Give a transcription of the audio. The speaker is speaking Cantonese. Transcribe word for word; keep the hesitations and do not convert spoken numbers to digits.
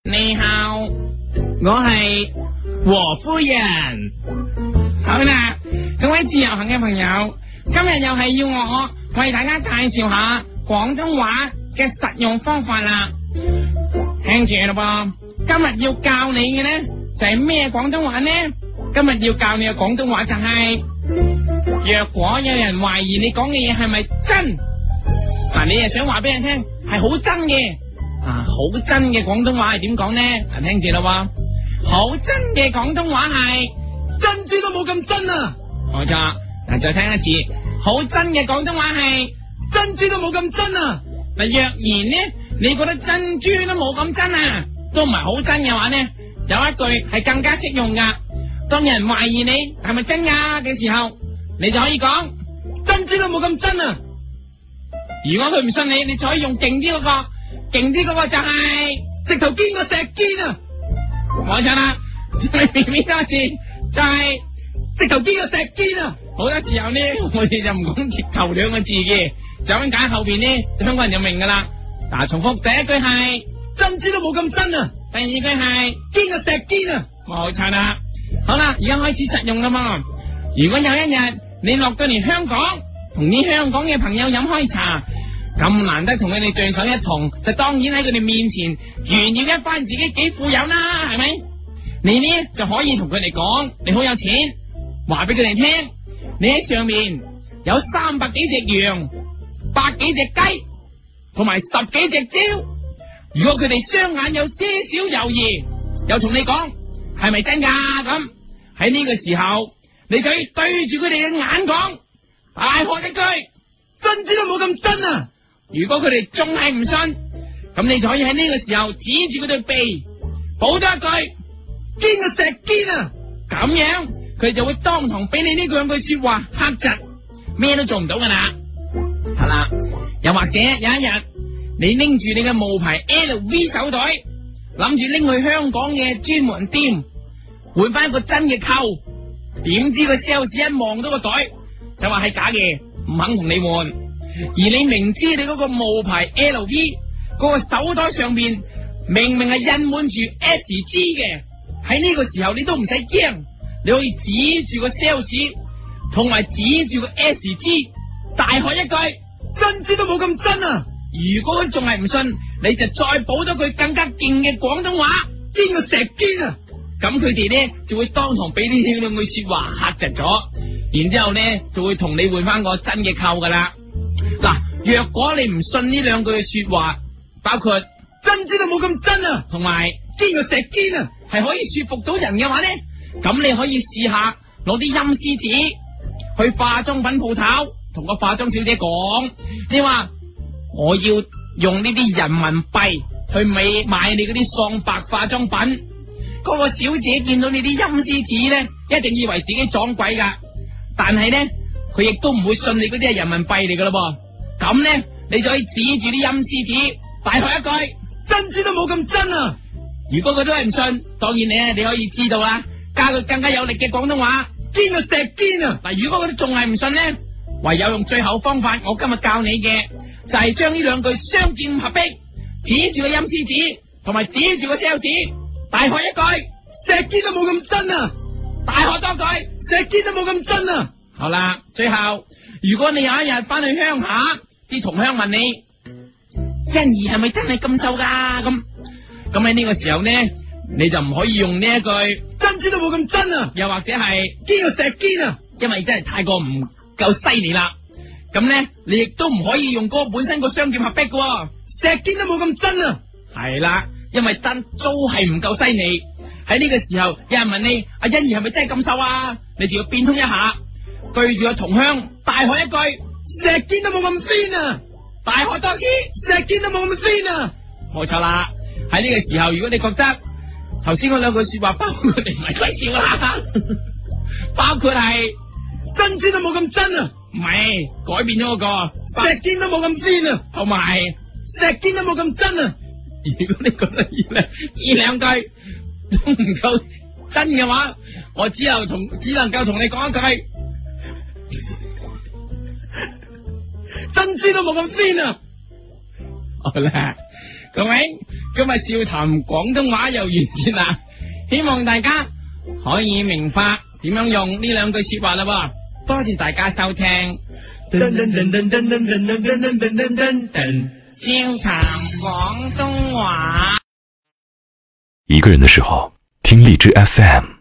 你好，我係和夫人。好啦，各位自由行嘅朋友，今日又係要我為大家介紹下廣東話嘅實用方法啦。聽住啦噃，今日要教你嘅呢就係咩廣東話呢？今日要教你嘅廣東話就係，若果有人懷疑你講嘅嘢係咪真，嗱，你又想話俾人聽係好真嘅。啊，好真嘅廣東話係點講呢？嗱，聽住啦，好真嘅廣東話係珍珠都冇咁真啊！冇錯，嗱，再聽一次，好真嘅廣東話係珍珠都冇咁真啊！嗱，若然呢，你覺得珍珠都冇咁真啊，都唔係好真嘅話呢，有一句係更加適用噶。當有人懷疑你係咪真噶嘅時候，你就可以講珍珠都冇咁真啊！如果佢唔信你，你就可以用勁啲嗰個。勁啲嗰個就係、是、直頭堅過石堅啊！冇錯啦，再變變多一次就係、是、直頭堅過石堅啊！好多時候呢，我哋就唔講直頭兩個字嘅，就咁解後邊呢，香港人就明噶啦。嗱，重複第一句係珍珠都冇咁真啊，第二句係堅過石堅啊！冇錯啦。好啦，而家開始實用啦嘛。如果有一日你落到嚟香港，同啲香港嘅朋友飲開茶。咁難得同佢哋聚首一同，就當然喺佢哋面前炫耀一番自己幾富有啦，係咪？你呢就可以同佢哋講，你好有錢，話俾佢哋聽，你喺上面有三百幾隻羊，百幾隻雞，同埋十幾隻蕉。如果佢哋雙眼有些少猶豫，又同你講係咪真噶？咁喺呢個時候，你就要對住佢哋嘅眼講，大喝一句，珍珠都冇咁真啊！如果佢哋仲係唔信，咁你就可以喺呢個時候指住佢對鼻，補多一句堅過石堅啊！咁樣佢哋就會當堂俾你呢兩句說話嚇窒，咩都做唔到噶啦。係啦，又或者有一日你拎住你嘅冒牌 L V 手袋，諗住拎去香港嘅專門店換翻一個真嘅扣，點知個 sales 一望到個袋就話係假嘅，唔肯同你換。而你明知你嗰個冒牌 L V 嗰個手袋上邊明明係印滿住 S G 嘅，喺呢個時候你都唔使驚，你可以指住個 sales 同埋指住個 S G 大喝一句珍珠都冇咁真啊！如果佢仲係唔信，你就再補多句更加勁嘅廣東話，堅過石堅啊！咁佢哋咧就會當堂俾呢兩句說話嚇窒咗，然之後咧就會同你換翻個真嘅扣噶啦。嗱，若果你唔信呢兩句嘅說話，包括珍珠都冇咁真啊，同埋堅過石堅啊，係可以說服到人嘅話咧，咁你可以試下攞啲陰司紙去化妝品鋪頭，同個化妝小姐講，你話我要用呢啲人民幣去買買你嗰啲喪白化妝品，嗰個小姐見到你啲陰司紙咧，一定以為自己撞鬼噶，但係咧佢亦都唔會信你嗰啲係人民幣嚟噶咯噃。咁咧，你就可以指住啲陰司紙，大喝一句珍珠都冇咁真啊！如果佢都係唔信，當然你咧你可以知道啦，加佢更加有力嘅廣東話，堅過石堅啊！嗱，如果佢都仲係唔信咧，唯有用最後方法，我今日教你嘅就係將呢兩句雙劍合璧，指住個陰司紙，同埋指住個 sales， 大喝一句石堅都冇咁真啊！大喝多句石堅都冇咁真啊！好啦，最後如果你有一日翻去鄉下，啲同鄉問你欣宜係咪真係咁瘦噶？咁咁喺呢個時候呢，你就唔可以用呢一句珍珠都冇咁真啊，又或者係堅過石堅啊，因為真係太過唔夠犀利啦。咁呢，你亦都唔可以用嗰個本身個雙劍合璧嘅，石堅都冇咁真啊。係啦，因為真都係唔夠犀利。喺呢個時候，有人問你阿欣宜係咪真係咁瘦啊？你就要變通一下，對住個同鄉大喝一句石堅都冇咁 thin 啊！大喝多次石堅都冇咁 thin 啊！冇錯啦。喺呢個時候，如果你覺得頭先嗰兩句說話包括你唔係鬼笑啦，包括係珍珠都冇咁真啊，唔係改變咗嗰個石堅都冇咁 thin 啊，同埋石堅都冇咁真啊。如果你覺得呢兩呢兩句都唔夠真嘅話，我只有同只能夠同你講一句。珍珠都冇咁 thin 啊！好啦， 各位，今日笑談廣東話又完結啦，希望大家可以明白點樣用呢兩句說話啦。多謝大家收聽。噔噔噔噔噔噔噔噔噔噔噔噔噔，笑談廣東話。 一個人的時候，聽荔枝 F M。